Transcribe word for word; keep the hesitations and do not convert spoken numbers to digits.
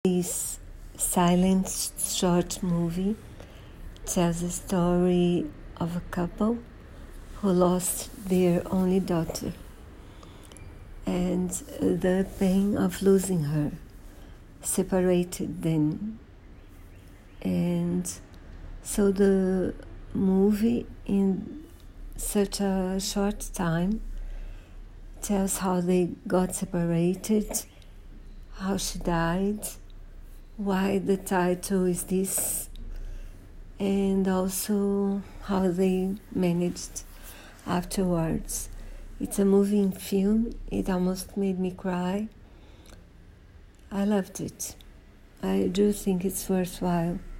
This silent short movie tells the story of a couple who lost their only daughter and the pain of losing her separated them. And so the movie, in such a short time, tells how they got separated, how she died, why the title is this, and also how they managed afterwards. It's a moving film. It almost made me cry. I loved it. I do think it's worthwhile.